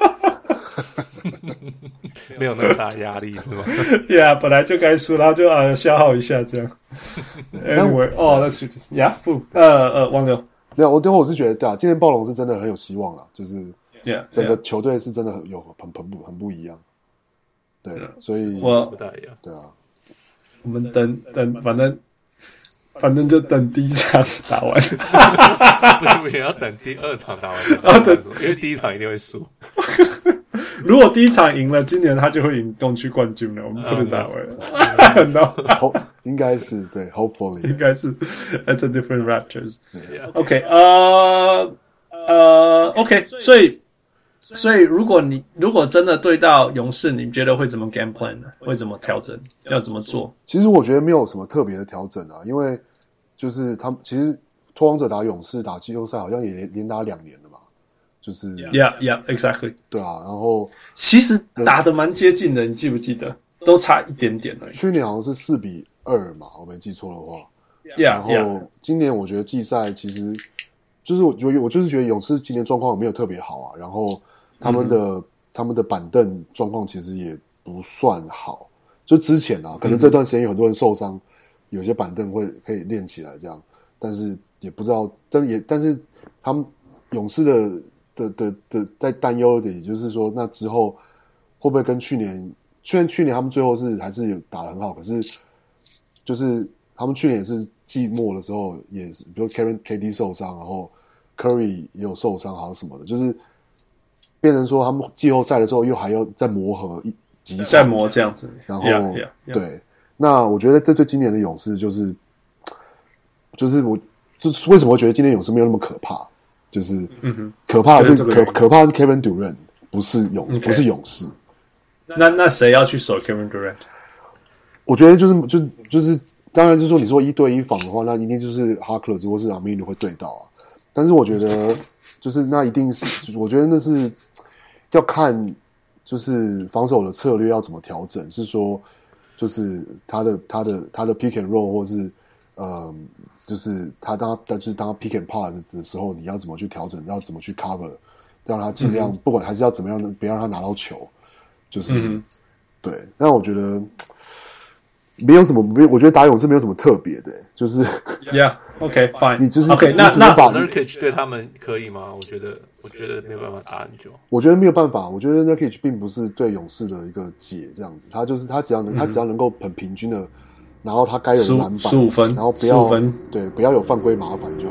沒有那麼大壓力是嗎？ 對啊，本來就該輸，然後就啊消耗一下這樣。Anyway， 哦，那是呀，不，呃呃，王流， 沒有，我最後我是覺得，對啊，今年暴龍是真的很有希望啦，就是， yeah, 整個球隊是真的很有很很不很不一樣，對， yeah, 所以我不太一樣， 對啊， 我們等等，反正反正就等第一場打完， 不是不是要等第二場打完，啊對，因為第一場一定會輸。 如果第一場贏了，今年他就會贏東區冠軍了。我們不能打回來 ，no， 應該是對 ，hopefully 應該是 ，That's a different Raptors。OK， 呃呃 ，OK， 所以所以如果你如果真的對到勇士，你覺得會怎麼 game plan 呢？會怎麼調整？要怎麼做？ 其實我覺得沒有什麼特別的調整啊，因為就是他們其實拓荒者打勇士打季後賽好像也連連打兩年了嘛。就是 ，Yeah, yeah, exactly。 對啊，然後其實打得蠻接近的，你記不記得？都差一點點而已。 去年好像是四比二嘛，我沒記錯的話。 Yeah, 然後今年我覺得季賽其實就是我覺得我就是覺得勇士今年狀況沒有特別好啊，然後他們的、嗯、他們的板凳狀況其實也不算好。就之前啊，可能這段時間有很多人受傷，嗯、有些板凳會可以練起來這樣，但是也不知道，但也但是他們勇士的。的的的，在擔憂的，也就是說，那之後會不會跟去年？雖然去年他們最後是還是有打得很好，可是就是他們去年也是季末的時候，也是比如 Karen K D 受傷，然後 Curry 也有受傷，好像什麼的，就是變成說他們季後賽的時候又還要再磨合一幾場， 再磨這樣子。 然後 yeah, yeah, yeah. 對，那我覺得這對今年的勇士就是就是我就是為什麼會覺得今年勇士沒有那麼可怕？就是可怕的是、嗯、可可怕的是 Kevin Durant， 不是勇、okay. 不是勇士。 那那誰要去守 Kevin Durant？ 我覺得就是就就是當然就是說你說一對一防的話，那一定就是 Harkless 或是 Aminu 會對到啊。但是我覺得就是那一定是，我覺得那是要看就是防守的策略要怎麼調整，是說就是他的他的他的 pick and roll 或是呃。就是他當他就是當他 pick and pop 的時候，你要怎麼去調整，要怎麼去 cover，讓他盡量、嗯、不管還是要怎麼樣，別讓他拿到球，就是、嗯、對。但我覺得沒有什麼，沒我覺得打勇士沒有什麼特別的、欸，就是 Yeah, OK, fine。 你就是 OK， 那那 Nurkic 對他們可以嗎？我覺得我覺得沒有辦法打很久。 我覺得沒有辦法，我覺得 Nurkic 並不是對勇士的一個解，這樣子，他就是他只要能、嗯、他只要能夠很平均的。然後他該有的籃板， 十五分， 然後不要對，不要有犯規麻煩就好了。我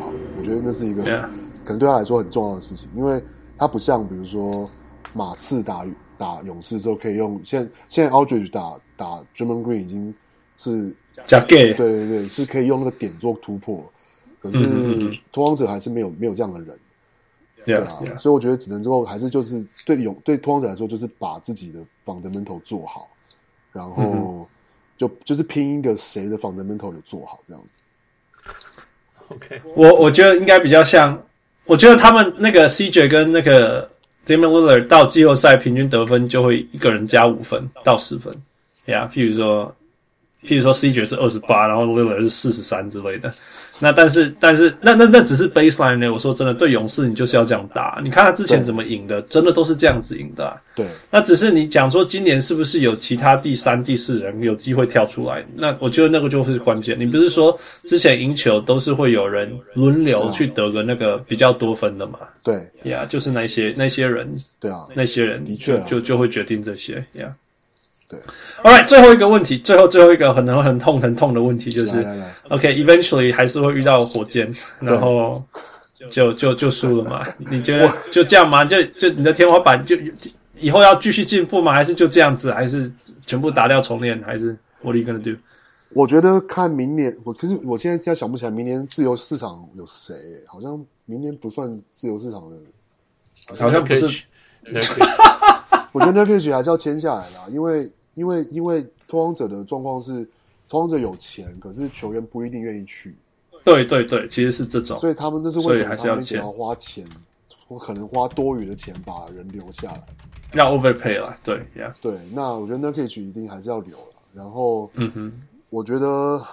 我覺得那是一個可能對他來說很重要的事情，因為他不像比如說馬刺打打勇士之後可以用現在現在 Aldridge 打打 Draymond Green 已經是假 gay， 對對对，是可以用那個點做突破，可是拓荒者還是沒有沒有這樣的人。對啊， yeah, yeah. 所以我覺得只能之後還是就是對勇對拓荒者來說，就是把自己的 fundamental 做好，然後就、嗯、就是拼一個誰的 fundamental 有做好這樣子。 OK， 我我覺得應該比較像，我覺得他們那個 C J 跟那個 Damian Lillard 到季後賽平均得分就會一個人加五分到十分，呀、yeah, ，譬如說，譬如說 C J 是二十八，然後 Lillard 是四十三之類的。那但是但是那那那只是 baseline 呢？我說真的，對勇士你就是要這樣打。你看他之前怎麼贏的，真的都是這樣子贏的、啊。 對。那只是你講說今年是不是有其他第三、第四人有機會跳出來？那我覺得那個就會是關鍵。你不是說之前贏球都是會有人輪流去得個那個比較多分的嘛？ 對。 呀、yeah, 就是那些那些人。 對啊。 那些人的確、啊、 就就會決定這些。呀、yeah.。 對 ，All right， 最後一個問題，最後最後一個很很很痛很痛的問題就是來來來 ，OK，eventually、okay, 還是會遇到火箭，然後就就就輸了嘛？你覺得就這樣嗎？就就你的天花板就以後要繼續進步嗎？還是就這樣子？還是全部打掉重練？還是 What are you gonna do？ 我覺得看明年，我可是我現在現在想不起來明年自由市場有誰、欸，好像明年不算自由市場的， 好像不是。 我覺得 Nurkic 還是要簽下來啦，因為因為因為拓荒者的狀況是，拓荒者有錢，可是球員不一定願意去。 對對對，其實是這種， 所以他們那是為什麼他們想要花錢，或可能花多餘的錢把人留下來， 要 overpay 啦，對呀， yeah. 對。那我覺得 Nurkic 一定還是要留了。然後， 嗯哼， 我覺得，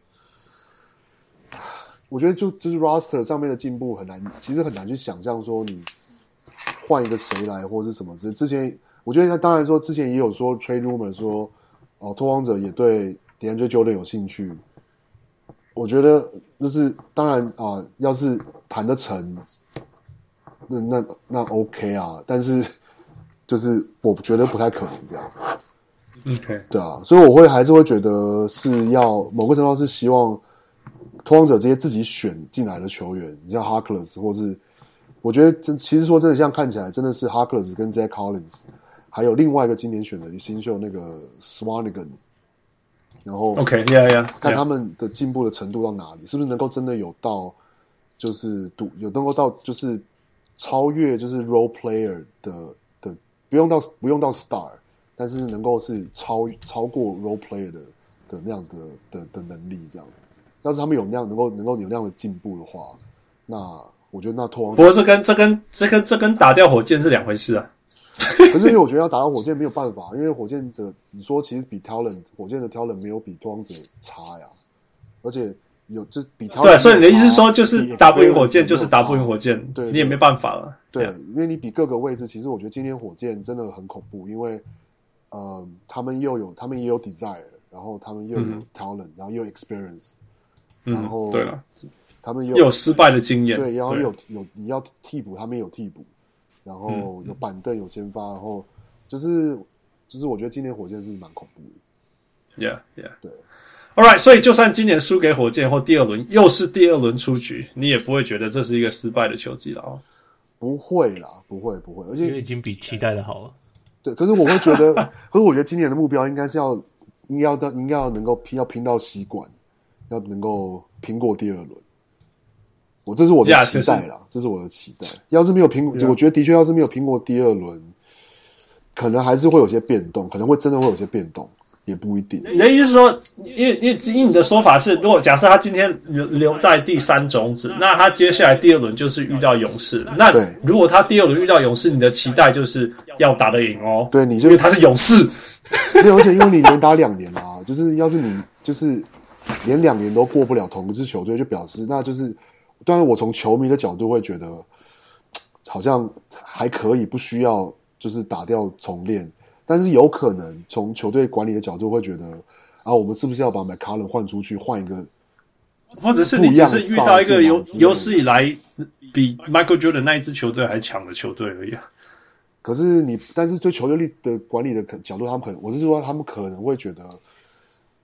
我覺得就就是 roster 上面的進步很難，其實很難去想象說你換一個誰來或是什麼之。之前我覺得他當然說之前也有說 trade rumor 說，哦，拓荒者也對 DeAndre Jordan 有興趣。我覺得那是當然啊、呃，要是談得成，那那那 OK 啊，但是就是我覺得不太可能這樣。 OK， 對啊，所以我會還是會覺得是要某個程度是希望拓荒者這些自己選進來的球員，你像 Harkless 或是我覺得真其實說真的，像看起來真的是 Harkless 跟 Zach Collins， 還有另外一個今年選的新秀那個 Swanigan。然後 ，OK， yeah, yeah, 看他們的進步的程度到哪裡， yeah. 是不是能夠真的有到，就是賭有能夠到，就是超越就是 role player 的的，不用到不用到 star， 但是能夠是超超過 role player 的的那樣子的的的能力這樣子。要是他們有那樣能夠能夠有那樣的進步的話，那我覺得那拓荒者， 不過這跟這跟這跟這跟打掉火箭是兩回事啊。 可是因為我覺得要打到火箭沒有辦法，因為火箭的你說其實比 talent 火箭的 talent 沒有比拓荒者差呀，而且有就比 talent 對，所以你的意思是說就是打不贏火箭就是打不贏火箭，對，對，對，你也沒辦法了。 對，對，因為你比各個位置，其實我覺得今天火箭真的很恐怖，因為呃他們又有他們也有 desire， 然後他們又有 talent，、嗯、然後又有 experience，、嗯、然後對了， 他們又有失敗的經驗， 對，然後有有你要替補，他們也有替補。然後有板凳有先發，然後就是就是我覺得今年火箭是蠻恐怖的。 Yeah, yeah. 對。 All right， 所以就算今年輸給火箭或第二輪又是第二輪出局，你也不會覺得這是一個失敗的球季了哦。 不會啦，不會不會，而且因為已經比期待的好了。 對，可是我會覺得，可是我覺得今年的目標應該是要應該要到應該要能夠拼要拼到西冠，要能夠拼過第二輪。我這是我的期待啦， yeah, 這是我的期待。要是沒有拼過， yeah. 我覺得的確要是沒有拼過第二輪，可能還是會有些變動，可能會真的會有些變動，也不一定。 你的意思是說，因為因為以你的說法是，如果假設他今天留留在第三種子，那他接下來第二輪就是遇到勇士。那如果他第二輪遇到勇士，你的期待就是要打得贏哦。 對，你就因為他是勇士， 沒有，而且因為你連打兩年啦、啊，就是要是你就是連兩年都過不了同一支球隊，就表示那就是。當然，我從球迷的角度會覺得，好像還可以，不需要就是打掉重練。但是有可能從球隊管理的角度會覺得，啊，我們是不是要把 McCollum 換出去，換一個， 或者是你只是遇到一個有有史以來比 Michael Jordan 那一支球隊還強的球隊而已啊。 可是你，但是對球隊的管理的角度，他們可能，我是說，他們可能會覺得，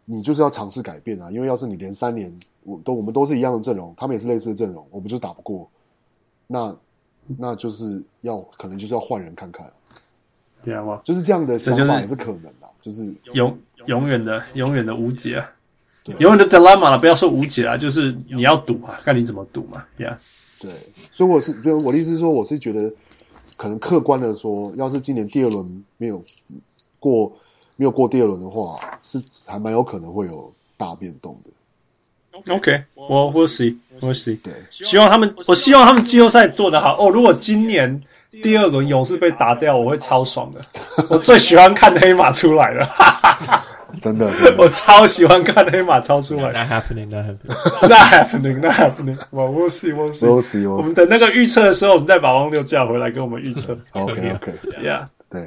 你就是要嘗試改變啊，因為要是你連三年我都我們都是一樣的陣容，他們也是類似的陣容，我們就打不過，那那就是要可能就是要換人看看， 對啊， 就是這樣的想法也是可能的，就是永永遠的永遠的無解啊，永遠的 dilemma 了，不要說無解啊，就是你要賭啊，看你怎麼賭嘛 ，Yeah， 對，所以我是我的意思是說，我是覺得可能客觀的說，要是今年第二輪沒有過。沒有過第二輪的話，是還蠻有可能會有大變動的。 OK， 我 we'll see， we'll see。 對， 希望他們，我希望他們季後賽做得好。哦，如果今年第二輪勇士被打掉，我會超爽的。我最喜歡看黑馬出來了， 真的，真的我超喜歡看黑馬超出來。 Not happening, not happening, not happening, not happening. Well, we'll see, we'll see. We'll see, we'll see. 我們等那個預測的時候，我們再把汪六叫回來跟我們預測。 OK, OK, yeah， 對。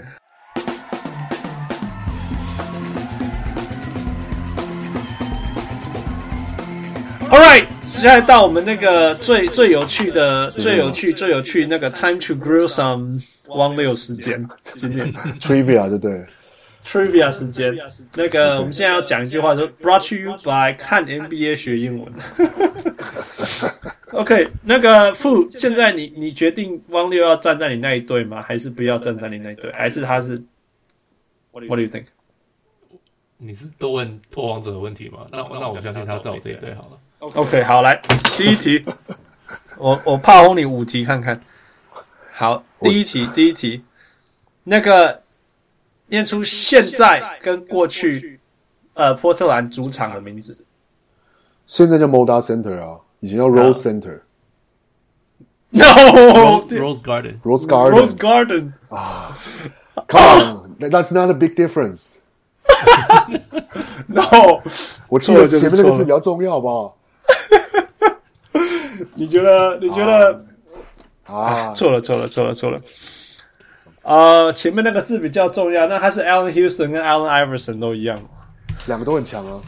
All right， 接下來到我們那個最最有趣的、最有趣、最有趣那個 Time to Grill Some 汪六時間，今天 Trivia 對不對 ？Trivia 時間，那個、okay. 我們現在要講一句話說 ，Brought to you by 看 N B A 學英文。OK， 那個傅，現在你你決定汪六要站在你那一隊嗎？還是不要站在你那一隊？還是他是 ？What do you think？ 你是都問拓荒者的問題嗎？那那我相信他在我這一隊好了。 OK， 好，來第一題，我我炮轟你五題看看。好，第一題，第一題，那個念出現在跟過去，呃，波特蘭主場的名字。 現在叫 Moda Center 啊，以前叫 Rose Center。No， Rose Garden， Rose Garden， Rose Garden 啊 ，Come on，that's not a big difference。No， 我記得前面那個字比較重要吧。 你覺得？你覺得？啊，錯了，錯了，錯了，錯了。呃，前面那個字比較重要，那他是 Allen Houston 跟 Allen Iverson 都一樣， 兩個都很強啊。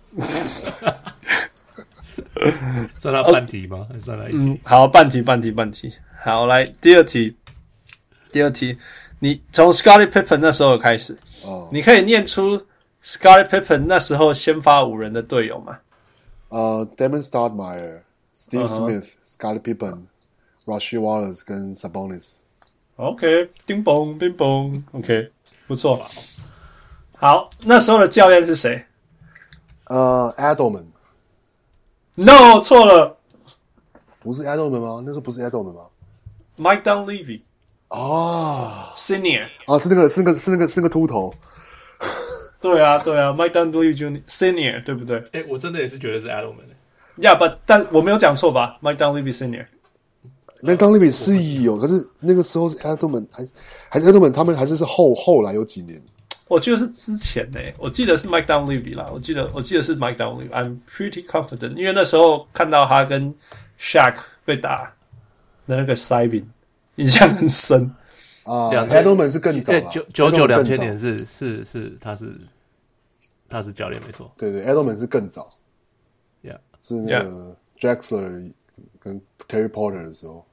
算他半題嗎？還算他一題？ 嗯，好，半題，半題，半題。好，來第二題，第二題，你從 Scottie Pippen 那時候開始，哦，你可以念出 Scottie Pippen 那時候先發五人的隊友嗎？ 呃 Damon Stoudemire。Steve Smith、uh-huh. Scottie Pippen、Rasheed Wallace 跟 Sabonis。OK， 叮咚叮咚 ，OK， 不錯。好，那時候的教練是誰？ 呃、uh, ，Edelman。No， 錯了， 不是 Edelman 嗎？那時候不是 Edelman 嗎 ？Mike Dunleavy。 哦 ，Senior。 啊，是那個，是那個，是那個，是那個禿頭。 對啊，對啊 ，Mike Dunleavy Junior Senior， 對不對？ 哎、欸，我真的也是覺得是 Edelman。 Yeah, but 但我沒有講錯吧 ？Mike Dunleavy Senior。Mike Dunleavy 是有，可是那個時候是 Edelman 還還是 Edelman 他們還是是後後來有幾年？ 我記得是之前呢、欸，我記得是 Mike Dunleavy 啦，我記得我記得是 Mike Dunleavy。I'm pretty confident， 因為那時候看到他跟 Shaq 被打的那個塞餅，印象很深啊。Edelman 是更早啦， 九九九兩千年是是是他是他是教練沒錯， 對對 ，Edelman 是更早。 Yeah， 是那個 Drexler 跟 Terry Porter 的時候。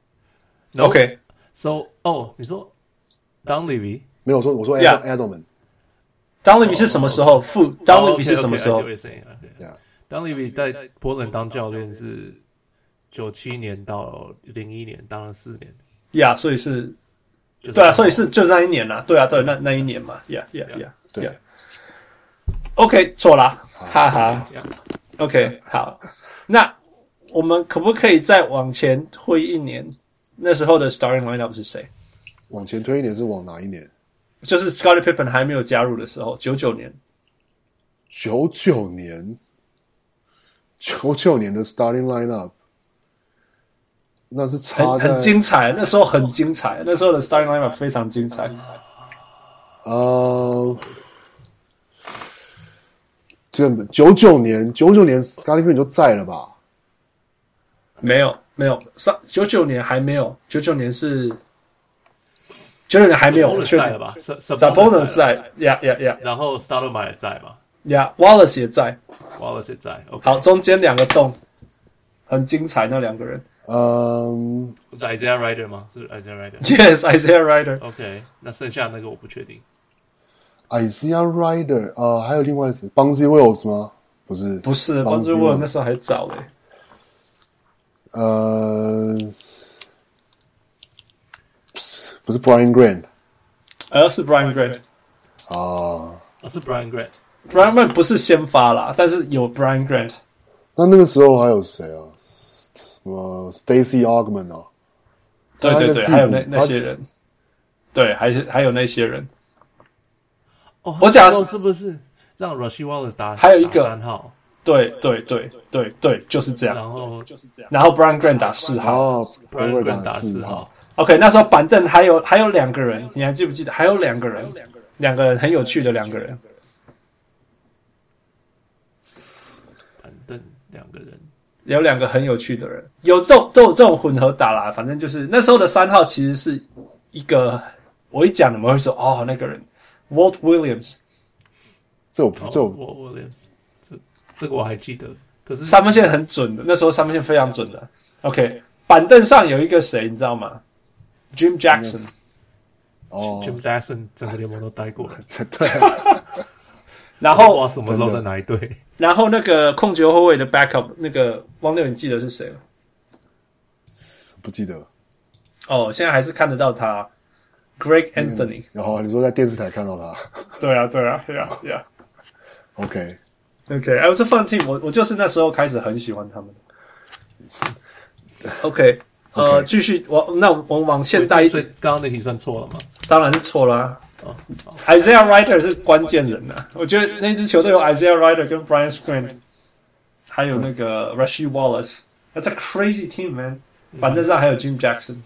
OK，So， 哦，你說 Dunleavy 沒有說，我說 Edelman。Dunleavy 是什麼時候？副 Dunleavy 是什麼時候 ？Dunleavy 在波特蘭當教練是九七年到零一年，當了四年。 Yeah， 所以是，對啊，所以是就是那一年啦。對啊，對，那那一年嘛。Yeah，Yeah，Yeah， 對。OK， 錯啦，哈哈。OK， 好，那我們可不可以再往前推一年？那時候的 starting lineup 是誰？ 往前推一年是往哪一年？ 就是 Scottie Pippen 還沒有加入的時候，九九年。 九九年，九九年的 starting lineup， 那是差很很精彩，那時候很精彩，那時候的 starting lineup 非常精彩。 呃。九九年，九九年 Scottie Pippen 就在了吧？ 沒有，沒有，九九年還沒有，九九年是九九年還沒有在了吧 ？Sabonis 在 ，Yeah Yeah Yeah， 然後 Stoudemire 也在嘛 ？Yeah， Wallace 也在 ，Wallace 也在。Okay. 好，中間兩個洞很精彩，那兩個人。 嗯， 是 Isaiah Rider 嗎？是 Isaiah Rider？ Yes， Isaiah Rider。 OK， 那剩下那個我不確定。 Isaiah Rider， 呃，還有另外誰 ？Bonzi Wells 嗎？不是， 不是 Bonzi Wells 那時候還早嘞。 呃，不是 Brian Grant， 呃，是 Brian Grant。 啊， 是 Brian Grant。Brian Grant 不是先發啦，但是有 Brian Grant。 那那個時候還有誰啊？什麼 Stacey Augmon 啊？ 對對對，還有那那些人。對，還是還有那些人。 哦，我講的是不是讓 Rasheed Wallace 打？ 還有一個三號。 對對對對對，就是這樣。 然後就是這樣。 然後 Brian Grant 打四號。 哦 ，Brian Grant 打四號。 OK， 那時候板凳還有還有兩個人，你還記不記得？還有兩個人，兩個人很有趣的兩個人。 板凳兩個人， 有兩個很有趣的人，有這種都有這種混合打啦。反正就是那時候的三號其實是一個，我一講你們會說哦，那個人 Walt Williams。 這我這我 Walt Williams， 這這個我還記得。可是三分線很準的，那時候三分線非常準的。OK， 板凳上有一個誰，你知道嗎？ Jim Jackson。 哦 ，Jim Jackson 整個聯盟都待過了。 對。 然後不知道什麼時候在哪一隊。 然後那個控球後衛的 backup， 那個汪六，你記得是誰嗎？ 不記得。 哦，現在還是看得到他 ，Greg Anthony。 然後你說在電視台看到他？ 對啊，對啊，對啊，對啊。 OK，OK， 哎，我是 fun team， 我我就是那時候開始很喜歡他們。OK， 呃，繼續，我那我們往現代一點。 所以剛剛那題算錯了嗎？ 當然是錯了啊。哦、Isaiah Rider 是關鍵人啊，我覺得那支球隊有 Isaiah Rider 跟 Brian Grant， 還有那個 Rasheed Wallace，That's a crazy team, man。板凳上還有 Jim Jackson，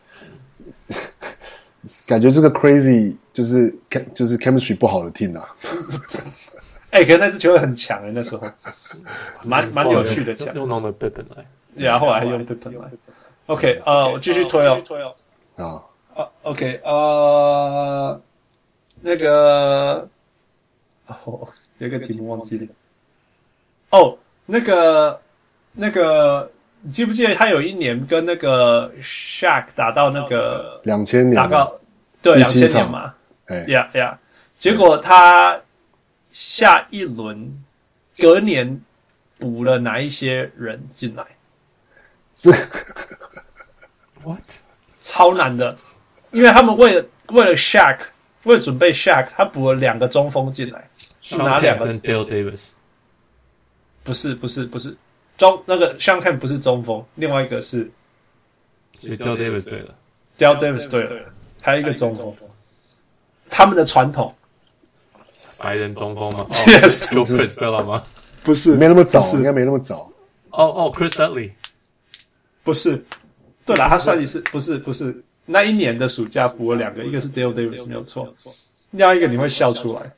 感覺這個 crazy 就是就是 chemistry 不好的 team 啊。 哎、欸，可是那支球隊很強哎、欸，那時候蠻蠻有趣的強。 用弄的 Pippen 來， 然後後來還用 Pippen 來。OK， 呃，我繼續推哦。 啊。 啊 ，OK， 呃。那個哦，有一個題目忘記了。哦，那個那個，你記不記得他有一年跟那個 Shaq 打到那個兩千年， 打到對兩千年嘛？ 哎呀呀，結果他下一輪隔年補了哪一些人進來？ 這 What？ 超難的，因為他們為了為了 Shaq。為了準備 Shaq， 他補了兩個中鋒進來，是哪兩個？ 跟 Dale Davis。 不是不是不是中那個 Shawn Kemp 不是中鋒，另外一個是。 所以 Dale Davis 對了 ，Dale Davis 對了，還有一個中鋒。他們的傳統。 白人中鋒嗎 ？Yes， 就 Chris Bella 嗎？ 不是， 沒那麼早，應該沒那麼早。 哦哦 ，Chris Dudley。 不是，對了，他算是不是不是。那一年的暑假補了兩個，一個是 Dale Davis 沒有錯，另外一個你會笑出來。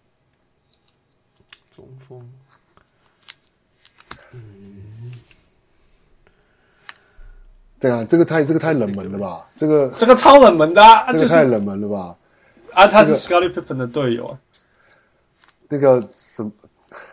中鋒， 嗯，對啊，這個太這個太冷門了吧？這個這個超冷門的啊， 這個太冷門了吧？ 啊，他是 Scottie Pippen 的隊友啊。 那個什麼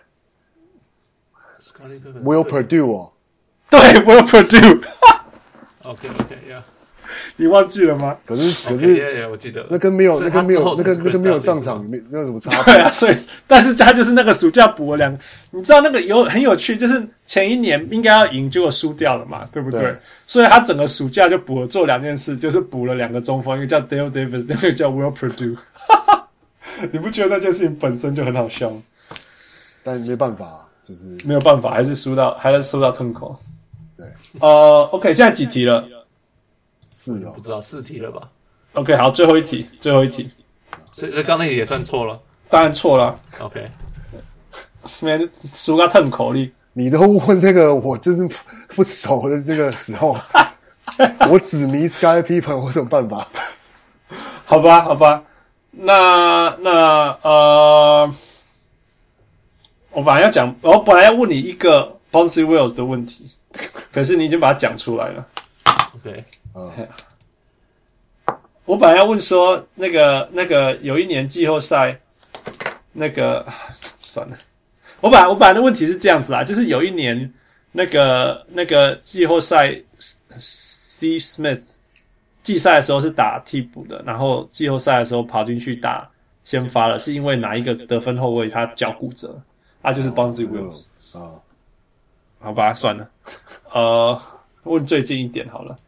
Will Perdue 哦， 對 Will Perdue。 OK OK，yeah。 你忘記了嗎？ 可是可是， yeah, yeah, 我記得那跟沒有那跟沒有那個那個沒有上場沒沒有什麼差別。 對啊，所以但是他就是那個暑假補了兩個，你知道那個有很有趣，就是前一年應該要贏，結果輸掉了嘛，對不對？對，所以他整個暑假就補了做兩件事，就是補了兩個中鋒，一個叫 Dale Davis， 另一個叫 Will Perdue。你不覺得那件事情本身就很好笑嗎？ 但沒辦法，就是沒有辦法，還是輸到還是輸到痛口。 對， 呃 ，OK， 現在幾題了？ 四哦， 不知道四題了吧 ？OK， 好，最後一題，最後一題。 所以所以剛那題也算錯了， 當然錯了。 OK， 沒輸到痛口裡。 你都問那個我就是不熟的那個時候，我只迷 Scottie Pippen， 我有什麼辦法？ 好吧，好吧，那那呃，我本來要講，我本來要問你一個 Bonzi Wells 的問題，可是你已經把它講出來了。 OK， 嗯， 我本來要問說，那個那個有一年季後賽，那個算了，我本來我本來的問題是這樣子啊，就是有一年那個那個季後賽 ，Steve Smith 季賽的時候是打替補的，然後季後賽的時候跑進去打先發了，是因為哪一個得分後衛他腳骨折，他就是 Bonzi Wells 啊。好吧，算了，呃，問最近一點好了，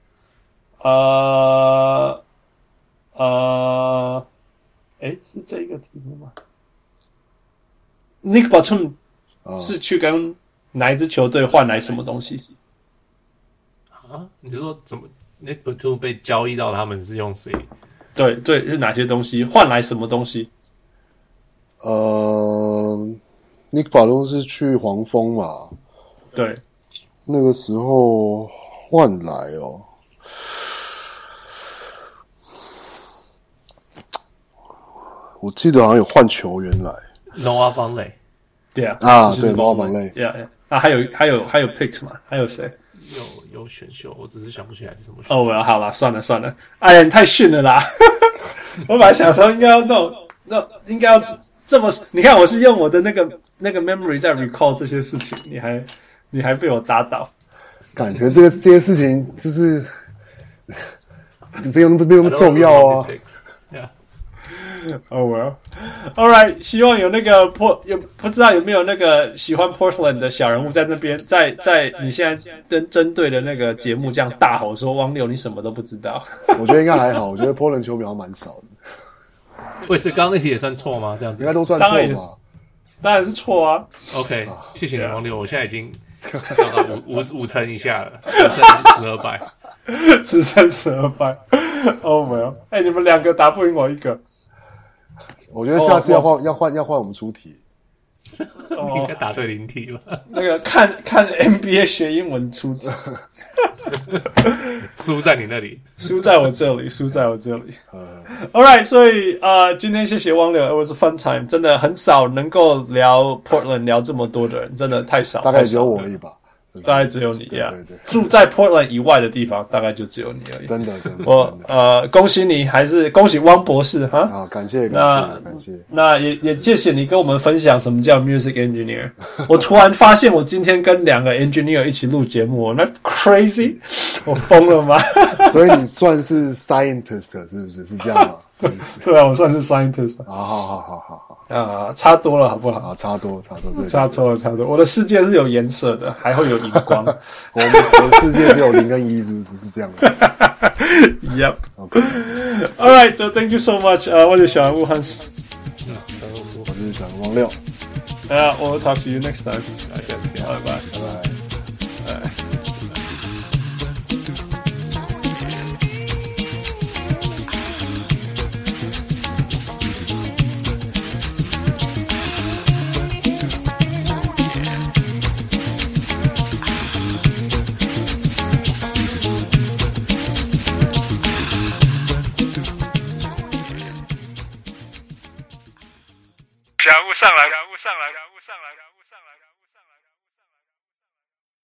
呃呃，誒，是這個題目嗎 ？Nick Batum 是去跟哪一支球隊換來什麼東西？ 啊？你是說怎麼 Nick Batum 被交易到他們是用誰？ 對對，是哪些東西換來什麼東西？ 呃 ，Nick Batum 是去黃蜂嘛？ 對， 那個時候換來哦，我記得好像有換球員來 ，Noah Vonleh， 對啊， 啊，對 ，Noah Vonleh， 對啊，啊，還有還有還有 picks 嘛？還有誰？ 有有選秀，我只是想不起來是什麼選秀。 哦，我好了，算了算了，哎呀，你太遜了啦！我本來想說應該要弄，那應該要這麼，你看我是用我的那個那個 memory 在 recall 這些事情，你還。你還被我打倒， 感覺這個這些事情就是不用不用那麼重要啊。 Oh well, all right. 希望有那個 Port 有不知道有沒有那個喜歡 Portland 的小人物在那邊，在在你現在針針對的那個節目這樣大吼說汪六你什麼都不知道。 我覺得應該還好，我覺得 Portland 球迷好像蠻少的。 喂，所以剛剛那題也算錯嗎？這樣子應該都算錯吧？ 當然是錯啊。 OK，啊謝謝你汪六，我現在已經。掉到五五五成以下了，十勝十二敗， 十勝十二敗。哦，沒有，哎，你們兩個打不贏我一個。 我覺得下次要換、oh, 要換要換我們出題。 你應該答對零題了。 那個看看 N B A 學英文出題， 輸在你那裡， 輸在我這裡，輸在我這裡。All right， 所以呃，今天謝謝汪六 ，It was a fun time， 真的很少能夠聊 Portland 聊這麼多的人，真的太少， 大概只有我而已吧。 大概只有你呀， 對對對， 住在 Portland 以外的地方，大概就只有你而已。 真的，真的。 我呃，恭喜你，還是恭喜汪博士哈！ 啊，感謝，感謝，感謝。 那也也謝謝你跟我們分享什麼叫 music engineer。我突然發現，我今天跟兩個 engineer 一起錄節目，那 crazy， 我瘋了嗎？ 所以你算是 scientist 是不是？是這樣嗎？ 對啊，我算是 scientist。 好好好好好好啊，差多了好不好？ 啊，差多差多， 差多了差多。我的世界是有顏色的，還會有熒光。 我們我的世界只有零跟一，是不是？是這樣的。 Yep. Okay. All right. So thank you so much. 呃，我是小人物 Hans。 我是小人物汪六。 Yeah, we'll talk to you next time. Okay. Bye bye. Bye bye. 小人物上來，小人物上來。